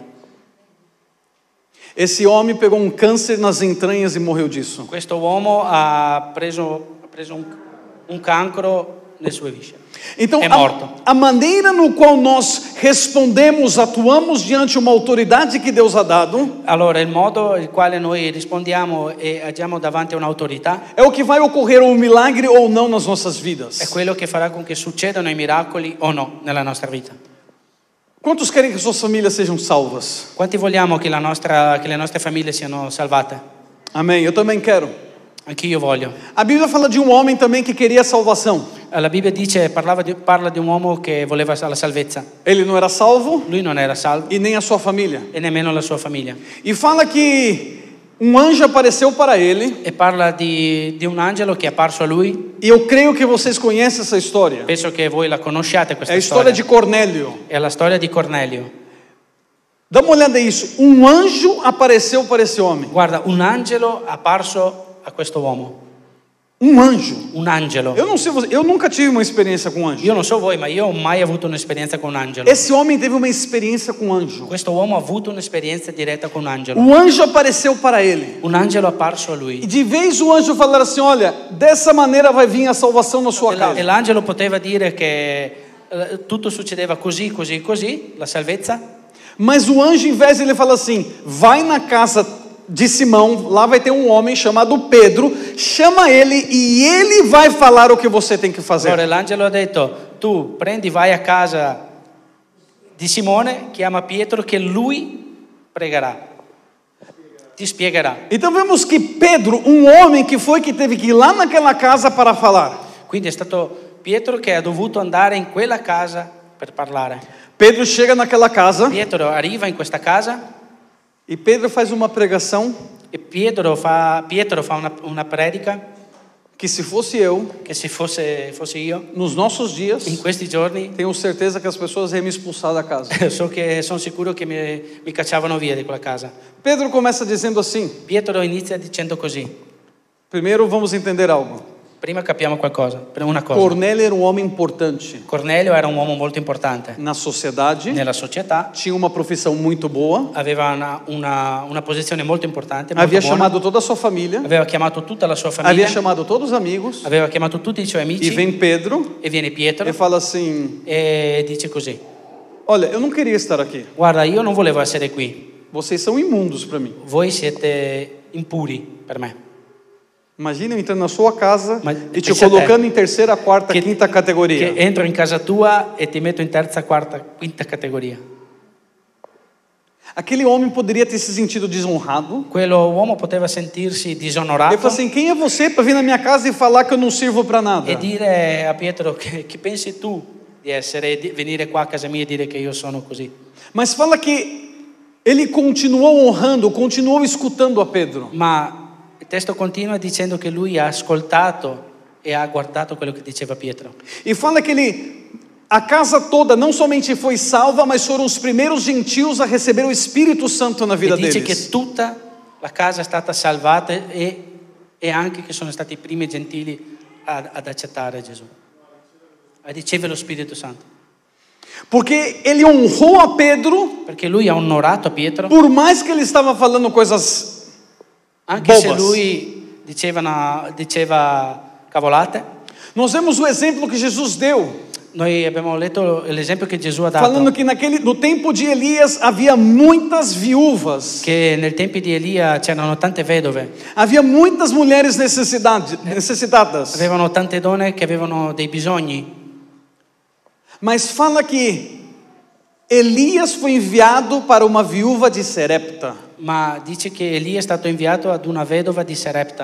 Esse homem pegou câncer nas entranhas e morreu disso. Questo uomo ha preso un cancro nelle sue viscere. Então, É morto. a maneira no qual nós respondemos, atuamos diante de uma autoridade que Deus ha dado, Allora, il modo in quale noi rispondiamo e agiamo davanti a un'autorità é o que vai ocorrer um milagre ou não nas nossas è vidas. quello che farà con che succedano i miracoli o no nella nostra vita. Quantos querem que suas famílias sejam salvas? Quanti vogliamo che le nostre famiglie siano salvate? Amém. Eu também quero. Anch'io voglio. A Bíblia fala de homem também que queria salvação. La Bibbia parla di un uomo che voleva la salvezza. Ele não era salvo Lui non era salvo e nem a sua família. e nemmeno la sua famiglia. E fala que anjo apareceu para ele. E parla di un angelo che è apparso a lui. E eu creio que vocês conhecem essa história. Penso che voi la conosciate É questa a história de storia. Cornélio. È la storia di Cornelio. Dá uma olhada nisso. Anjo apareceu para esse homem. Guarda, un angelo è apparso a questo uomo. Anjo. Un angelo. Eu não sei, eu nunca tive uma experiência com anjo. Io non so voi, ma io ho mai avuto un'esperienza con un angelo. Esse homem teve uma experiência com anjo. Questo uomo ha avuto un'esperienza diretta con un angelo. Anjo apareceu para ele. Un angelo è apparso a E lui. de vez o anjo falar assim: olha, dessa maneira vai vir a salvação na sua E casa. l'angelo poteva dire che tutto succedeva così, così, così, la salvezza. Mas o anjo, em vez de ele falar assim: vai na casa de Simão, lá vai ter homem chamado Pedro, chama ele e ele vai falar o que você tem que fazer. Allora l'angelo ha detto, tu prendi, vai a casa di Simone chiama Pietro che lui pregherà, ti spiegherà. Então vemos que Pedro, um homem que teve que ir lá naquela casa para falar. Quindi è stato Pietro che ha dovuto andare in quella casa per parlare. Pedro chega naquela casa Pietro arriva in questa casa e Pedro faz uma pregação e Pietro fa una predica que, se fosse eu, che se fosse io, nos nossos dias, in questi giorni tenho certeza que as pessoas iam me expulsar da casa. sono sicuro che mi cacciavano via di quella casa. Pedro começa dizendo assim. Pietro inizia dicendo così. Primeiro vamos entender algo. Prima capiamo una cosa. Cornélio era um homem importante Cornelio era un uomo molto importante na sociedade, nella società, tinha uma profissão muito boa, aveva una posizione molto importante, molto havia buona. chamado toda a sua família, Aveva chiamato tutta la sua havia famiglia, chamado todos os amigos, aveva chiamato tutti i suoi e amici vem Pedro e viene Pietro e fala assim: e dice così: olha, eu não queria estar aqui, guarda, io non volevo essere qui, vocês são imundos para mim. voi siete impuri per me. Imagina eu entrando na sua casa Mas e te pensa a te, colocando em terceira, quarta, quinta che categoria. entro in casa tua e ti metto in terza, quarta, quinta categoria. Aquele homem poderia ter se sentido desonrado. Quello uomo poteva sentirsi Ele disonorato falou assim: quem é você para vir na minha casa e falar que eu não sirvo para nada? e dire a Pietro che pensi tu di essere, di venire qua a casa mia e dire che io sono così. Mas fala que ele continuou honrando, continuou escutando a Pedro. Ma il testo continua dicendo che lui ha ascoltato e ha guardato quello che diceva Pietro. E fala que a casa toda não somente foi salva, mas foram os primeiros gentios a receber o Espírito Santo na vida E dice deles. che tutta la casa è stata salvata e anche che sono stati i primi gentili ad accettare Gesù, a ricevere lo Spirito Santo. Porque ele honrou a Pedro, Perché lui ha onorato Pietro, por mais que ele estava falando coisas anche se bobas. lui diceva cavolate. Nós vemos o exemplo que Jesus deu, Noi abbiamo letto l'esempio che Gesù ha dato, falando que no tempo de Elias havia muitas viúvas, che nel tempo di Elia c'erano tante vedove, havia muitas mulheres necessitadas. avevano tante donne che avevano dei bisogni. Mas fala que Elias foi enviado para uma viúva de Serepta. Ma dice che Elia è stato inviato ad una vedova di Sarepta.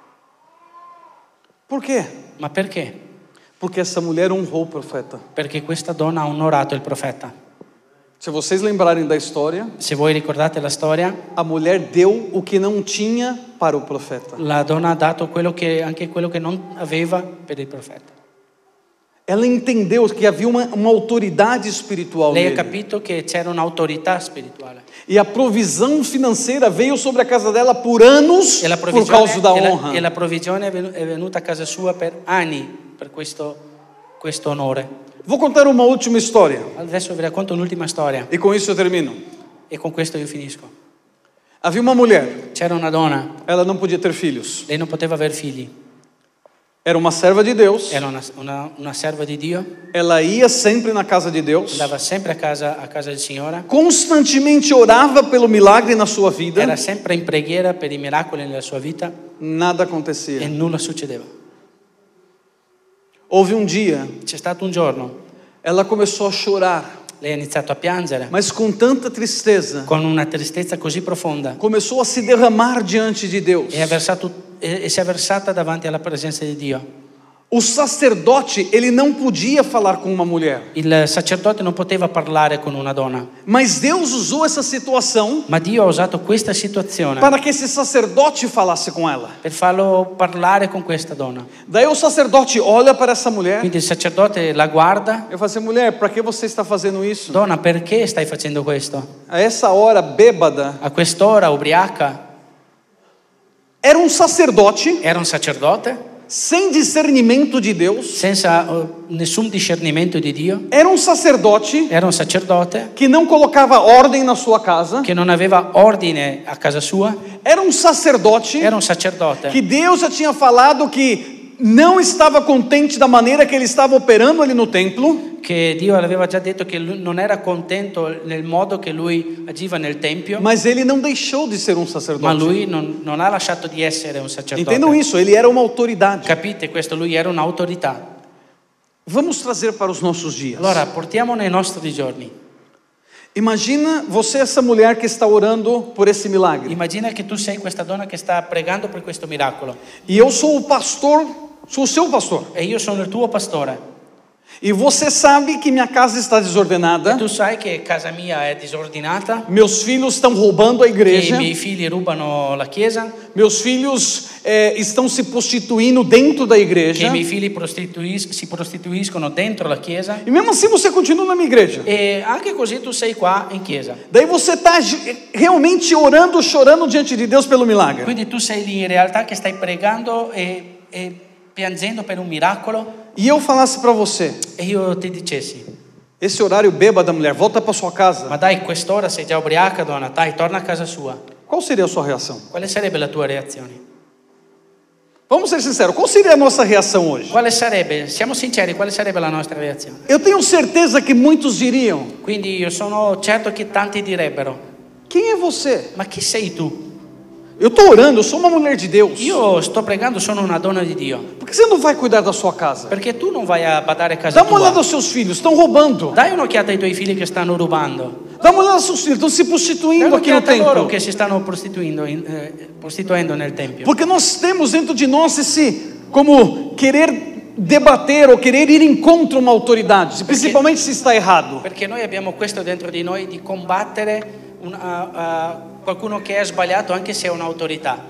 Por quê? Ma perché? Porque essa mulher honrou o profeta. Perché questa donna ha onorato il profeta. Se vocês lembrarem da história, Se voi ricordate la storia, a mulher deu o que não tinha para o profeta. la donna ha dato anche quello che non aveva per il profeta. Ela entendeu que havia uma autoridade espiritual Lei ha nele. capito che c'era un'autorità spirituale. E a provisão financeira veio sobre a casa dela por anos E la por causa da honra. la provvigione è venuta a casa sua per anni per questo onore. Vou contar uma última história Adesso vi racconto un'ultima storia e com isso eu termino. e con questo io finisco. Havia uma mulher, C'era una donna, ela não podia ter filhos. lei non poteva aver figli, Era uma serva de Deus. era una serva di Dio, Ela ia sempre na casa de Deus. andava sempre a casa del Signore, Constantemente orava pelo milagre na sua vida. era sempre in preghiera per i miracoli nella sua vita Nada e acontecia. nulla succedeva. Houve um dia, C'è stato un giorno, ela começou a chorar, lei ha iniziato a piangere mas com tanta tristeza. con una tristezza così profonda Começou a se derramar diante de Deus. e si è versata davanti alla presenza di Dio. O sacerdote, ele não podia falar com uma mulher. Il sacerdote non poteva parlare con una donna, Mas Deus usou essa situação ma Dio ha usato questa situazione para que esse sacerdote falasse com ela. per farlo parlare con questa donna. Daí o sacerdote olha para essa mulher. Quindi il sacerdote la guarda: Eu falo assim, mulher, para que você está fazendo isso? donna, perché stai facendo questo? A essa hora, bêbada, A quest'ora, ubriaca, era um sacerdote era un sacerdote sem discernimento de Deus. senza nessun discernimento di Dio, Era um sacerdote era un sacerdote que não colocava ordem na sua casa. che non aveva ordine a casa sua, Era um sacerdote era un sacerdote que Deus já tinha falado que não estava contente da maneira que ele estava operando ali no templo. che Dio aveva già detto che lui non era contento nel modo che lui agiva nel tempio, Mas ele não deixou de ser um ma sacerdote. lui non ha lasciato di essere un sacerdote. Entendam isso, ele era uma autoridade. Capite questo? Lui era un'autorità. Vamos trazer para os nossos dias. Allora portiamo nei nostri giorni. Imagina você essa mulher que está orando por esse milagre. Immagina che tu sei questa donna che sta pregando per questo miracolo E eu sou o pastor, sou o seu pastor. e io sono il tuo pastore. E você sabe que minha casa está desordenada. Tu sai che casa mia è disordinata, Meus filhos estão roubando a che i igreja. miei figli rubano la chiesa, Meus filhos estão se prostituindo dentro da che igreja. i miei figli si prostituiscono dentro la chiesa. E mesmo assim você continua na minha igreja. E anche così tu sei qua in chiesa. Daí você está realmente orando, chorando diante de Deus pelo milagre. Quindi tu sei lì in realtà che stai pregando e piangendo per un miracolo. E eu falasse para você, E io ti dicessi: esse horário bêbado da mulher, volta para sua casa. ma dai, quest'ora sei già ubriaca, donna, dai, torna a casa sua. Qual seria a sua reação? Quale sarebbe la tua reazione? Vamos ser sinceros, qual seria a nossa reação hoje? Quale sarebbe, siamo sinceri, quale sarebbe la nostra reazione? Eu tenho certeza que muitos diriam: Quindi io sono certo che tanti direbbero: quem é você? ma chi sei tu? Eu estou orando, eu sou uma mulher de Deus. Io sto pregando, sono una donna di Dio. Por que você não vai cuidar da sua casa? Perché tu non vai a badare a casa Dá uma olhada tua? aos seus filhos, estão roubando. Dai un'occhiata ai tuoi figli che stanno rubando. Dá uma olhada aos seus filhos, estão se Dai prostituindo aqui no un'occhiata a loro templo. che si stanno prostituendo nel tempio. Porque nós temos dentro de nós esse, como querer debater ou querer ir em contra uma autoridade, principalmente se está errado. Perché noi abbiamo questo dentro di noi di combattere qualcuno che è sbagliato anche se è un'autorità.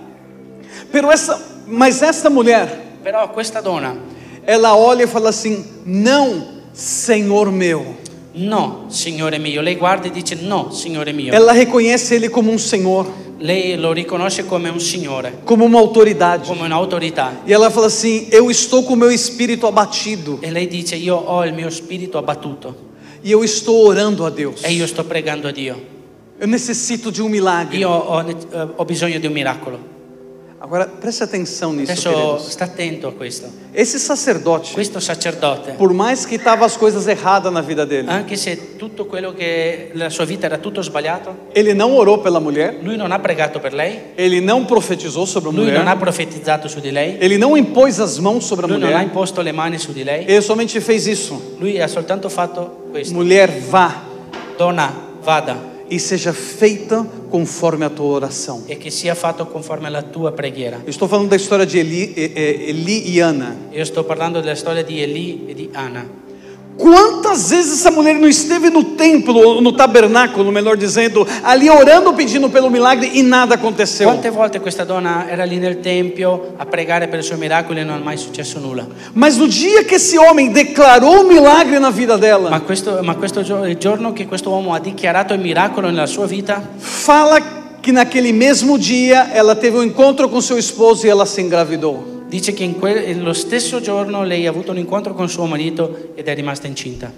Mas essa mulher, Però questa donna, ela olha e fala assim: não, Senhor meu. no, Signore mio, lei guarda e dice no, Signore mio. Ela reconhece Ele como um Senhor, Lei lo riconosce come un Signore, como uma autoridade. come un'autorità. E ela fala assim: eu estou com o meu espírito abatido E lei dice io ho il mio spirito abbattuto e eu estou orando a Deus. e io sto pregando a Dio. Eu necessito de um milagre. Io ho bisogno di un miracolo. Agora preste atenção nisso, Adesso queridos. sta attento a questo. Esse sacerdote, Questo sacerdote, por mais que estavam as coisas erradas na vida dele, anche se tutto quello che la sua vita era tutto sbagliato, ele não orou pela mulher, lui non ha pregato per lei, ele não profetizou sobre a lui non ha mulher, profetizzato su di lei, ele não impôs as mãos sobre a lui non ha mulher, imposto le mani su di lei, ele somente fez isso: lui ha soltanto fatto questo. mulher, vá Donna, vada e seja feita conforme a tua oração. e che sia fatto conforme alla tua preghiera. Eu estou falando da história de Eli e Ana. Io sto parlando della storia di Eli e di Anna. Quantas vezes essa mulher não esteve no templo, no tabernáculo, melhor dizendo, ali orando, pedindo pelo milagre e nada aconteceu? Quante volte questa donna era lì nel tempio a pregare per i suoi miracoli e non è mai successo nulla. Mas no dia que esse homem declarou o milagre na vida dela, Il giorno che questo uomo ha dichiarato il miracolo nella sua vita, fala que naquele mesmo dia ela teve um encontro com seu esposo e ela se engravidou. dice che lo stesso giorno lei ha avuto un incontro con suo marito ed è rimasta incinta.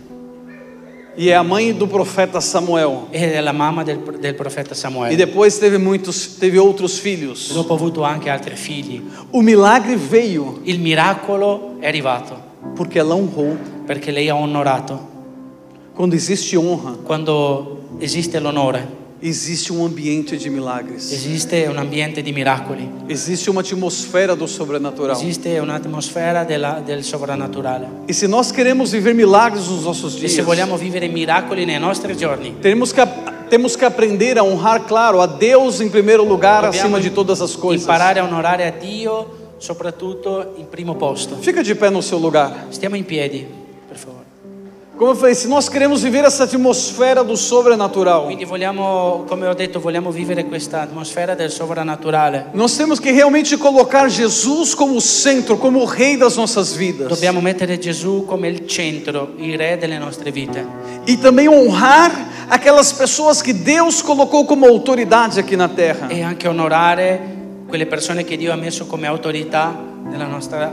E é a mãe do profeta Samuel. Ed è la mamma del profeta E Samuele. depois teve outros filhos. Dopo ha avuto anche altri figli. O milagre veio Il miracolo è arrivato porque ela honrou. perché lei ha onorato. Quando existe honra, Quando esiste l'onore, existe um ambiente de milagres. esiste un ambiente di miracoli, Existe uma atmosfera do sobrenatural. esiste un'atmosfera del sovrannaturale. E se nós queremos viver milagres nos nossos E dias, se vogliamo vivere miracoli nei nostri giorni, temos que aprender a honrar, claro, a Deus em primeiro lugar, dobbiamo acima de todas as coisas. imparare a onorare a Dio soprattutto in primo posto. Fica de pé no seu lugar. Stiamo in piedi, per favore. Como eu falei, se nós queremos viver essa atmosfera do sobrenatural, Quindi vogliamo, come ho detto, vogliamo vivere questa atmosfera del sovrannaturale. nós temos que realmente colocar Jesus como centro, como o rei das nossas vidas. Dobbiamo mettere Gesù come il centro, il re delle nostre vite. E também honrar aquelas pessoas que Deus colocou como autoridade aqui na terra. E anche onorare quelle persone che Dio ha messo come autorità nella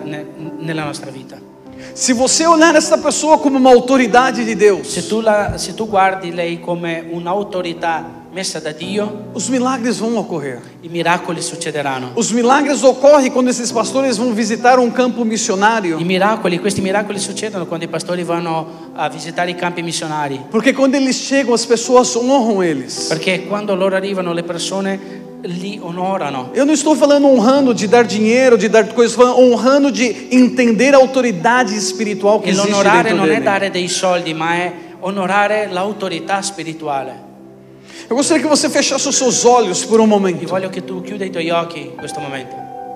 nostra vita. Se você olhar essa pessoa como uma autoridade de Deus, Se tu guardi lei come un'autorità messa da Dio, os milagres vão ocorrer. i miracoli succederanno. Os milagres ocorrem quando esses pastores vão visitar um campo missionário. Questi miracoli succedono quando i pastori vanno a visitare i campi missionari. Porque quando eles chegam, as pessoas honram eles. Perché quando loro arrivano le persone li onorano. Eu não estou falando honrando de dar dinheiro, de dar coisas, falando honrando de entender a autoridade espiritual que E existe l'onorare dentro non è dele. dare dei soldi, ma è onorare l'autorità spirituale. Eu gostaria que você fechasse os seus olhos por um Io momento. voglio che tu chiuda i tuoi occhi in questo momento.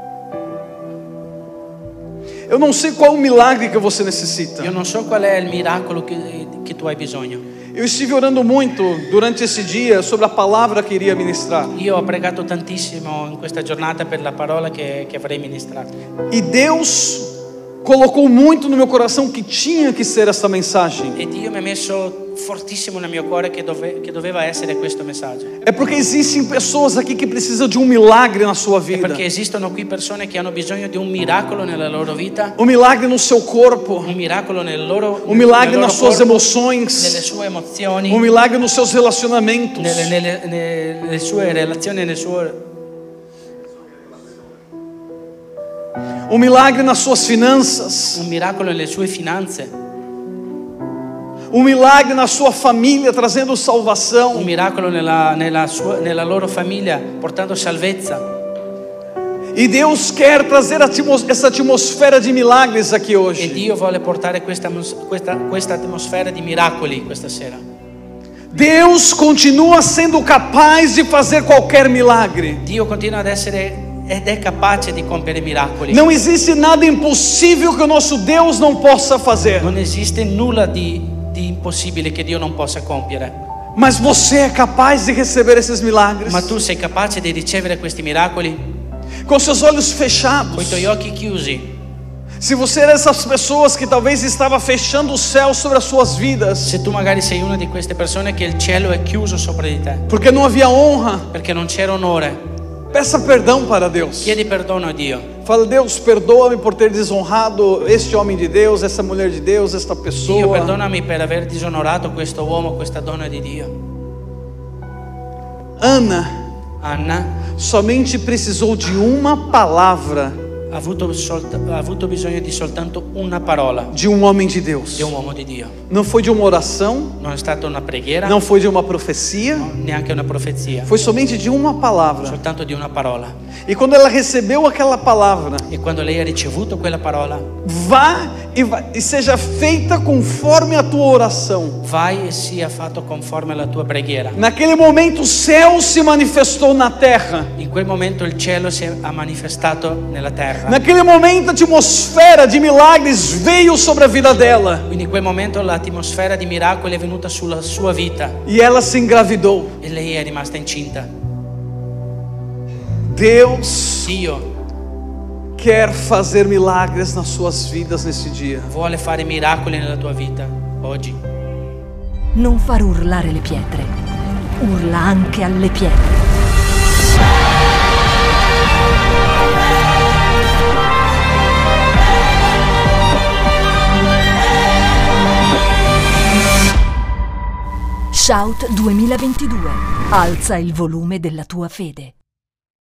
Eu não sei qual o milagre que você necessita. Io non so qual è il miracolo che tu hai bisogno. Eu estive orando muito durante esse dia sobre a palavra que iria ministrar. Io ho pregato tantissimo in questa giornata per la parola che avrei ministrato. E Deus colocou muito no meu coração que tinha que ser essa mensagem. E Dio mi ha messo fortissimo nel mio cuore che doveva essere questo messaggio. É porque existem pessoas aqui que precisam de um milagre na sua vida. Perché esistono qui persone che hanno bisogno di un miracolo nella loro vita, Um milagre no seu corpo. un miracolo nel loro, Um milagre nel loro nas suas corpo, emoções. nelle sue emozioni, Um milagre nos seus relacionamentos. nelle sue relazioni, nel suo... Um milagre nas suas finanças. un miracolo nelle sue finanze, Um milagre na sua família, trazendo salvação. un miracolo nella loro famiglia, portando salvezza. E Deus quer trazer essa atmosfera de milagres aqui E hoje. Dio vuole portare questa atmosfera di miracoli questa sera. Deus continua sendo capaz de fazer qualquer milagre. Dio continua ad essere ed è capace di compiere miracoli. Não existe nada impossível que o nosso Deus não possa fazer. Non esiste nulla di impossibile che Dio non possa compiere. Mas você é capaz de receber esses milagres Ma tu sei capace di ricevere questi miracoli com seus olhos con i fechados. tuoi occhi chiusi. Se você era essas pessoas que talvez estava fechando o céu sobre as suas vidas, Se tu magari sei una di queste persone che il cielo è chiuso sopra di te porque não havia honra, perché non c'era onore, peça perdão para Deus. chiedi perdono a Dio. Fala: Deus, perdoa-me por ter desonrado este homem de Deus, essa mulher de Deus, esta Dio, pessoa. perdonami per aver disonorato questo uomo, questa donna di Dio. Ana Anna somente precisou de uma palavra ha avuto bisogno di soltanto una parola de um homem de Deus. di un uomo di Dio. Não foi de uma oração, Non è stata una preghiera, não foi de uma profecia, neanche una profezia, foi somente de uma palavra. soltanto di una parola. E quando ela recebeu aquela palavra, E quando lei ha ricevuto quella parola, vá e seja feita conforme a tua oração. vai e sia fatto conforme alla tua preghiera. Naquele momento o céu se manifestou na terra. In quel momento il cielo ha manifestato nella terra. Naquele momento a atmosfera de milagres veio sobre a vida dela. Quindi in quel momento l'atmosfera di miracoli è venuta sulla sua vita E ela se engravidou. e lei è rimasta incinta. Deus Dio quer fazer milagres nas suas vidas nesse dia. vuole fare miracoli nella tua vita oggi. Non far urlare le pietre. Urla anche alle pietre. Shout 2022. Alza il volume della tua fede.